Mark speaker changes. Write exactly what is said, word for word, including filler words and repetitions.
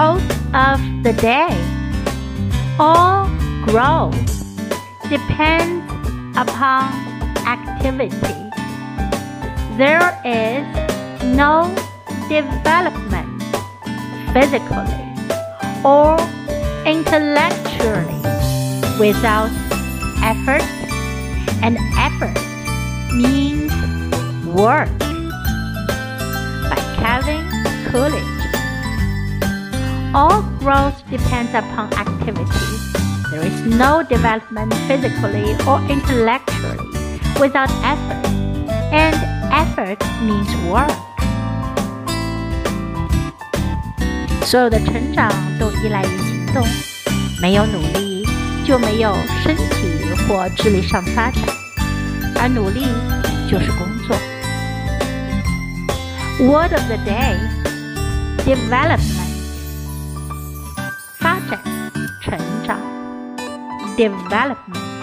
Speaker 1: Quote of the day. All growth depends upon activity. There is no development physically or intellectually without effort, and effort means work. By Calvin Coolidge. All growth depends upon activity. There is no development physically or intellectually without effort, and effort means work. 所有的成长都依赖于行动，没有努力就没有身体或智力上发展，而努力就是工作。Word of the day: development. 发展、成长 development